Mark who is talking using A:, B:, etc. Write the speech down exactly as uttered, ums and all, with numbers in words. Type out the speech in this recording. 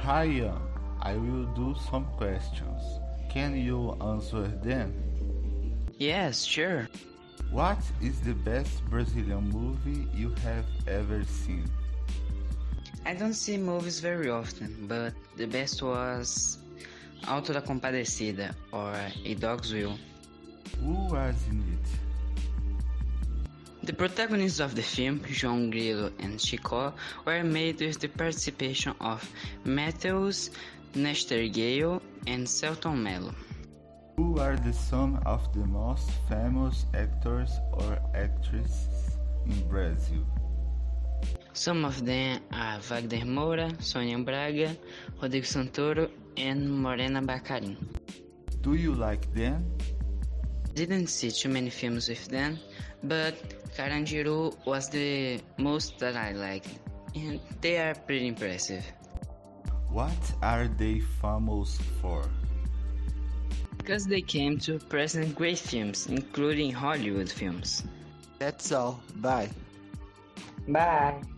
A: Ryan, I will do some questions. Can you answer them?
B: Yes, sure.
A: What is the best Brazilian movie you have ever seen?
B: I don't see movies very often, but the best was Auto da Compadecida or A Dog's Will.
A: Who was in it?
B: The protagonists of the film, João Grilo and Chicó, were made with the participation of Matheus Nastergaile and Selton Mello.
A: Who are the some of the most famous actors or actresses in Brazil?
B: Some of them are Wagner Moura, Sônia Braga, Rodrigo Santoro, and Morena Baccarin.
A: Do you like them?
B: Didn't see too many films with them, but Carandiru was the most that I liked, and they are pretty impressive.
A: What are they famous for?
B: Because they came to present great films, including Hollywood films.
C: That's all. Bye.
B: Bye!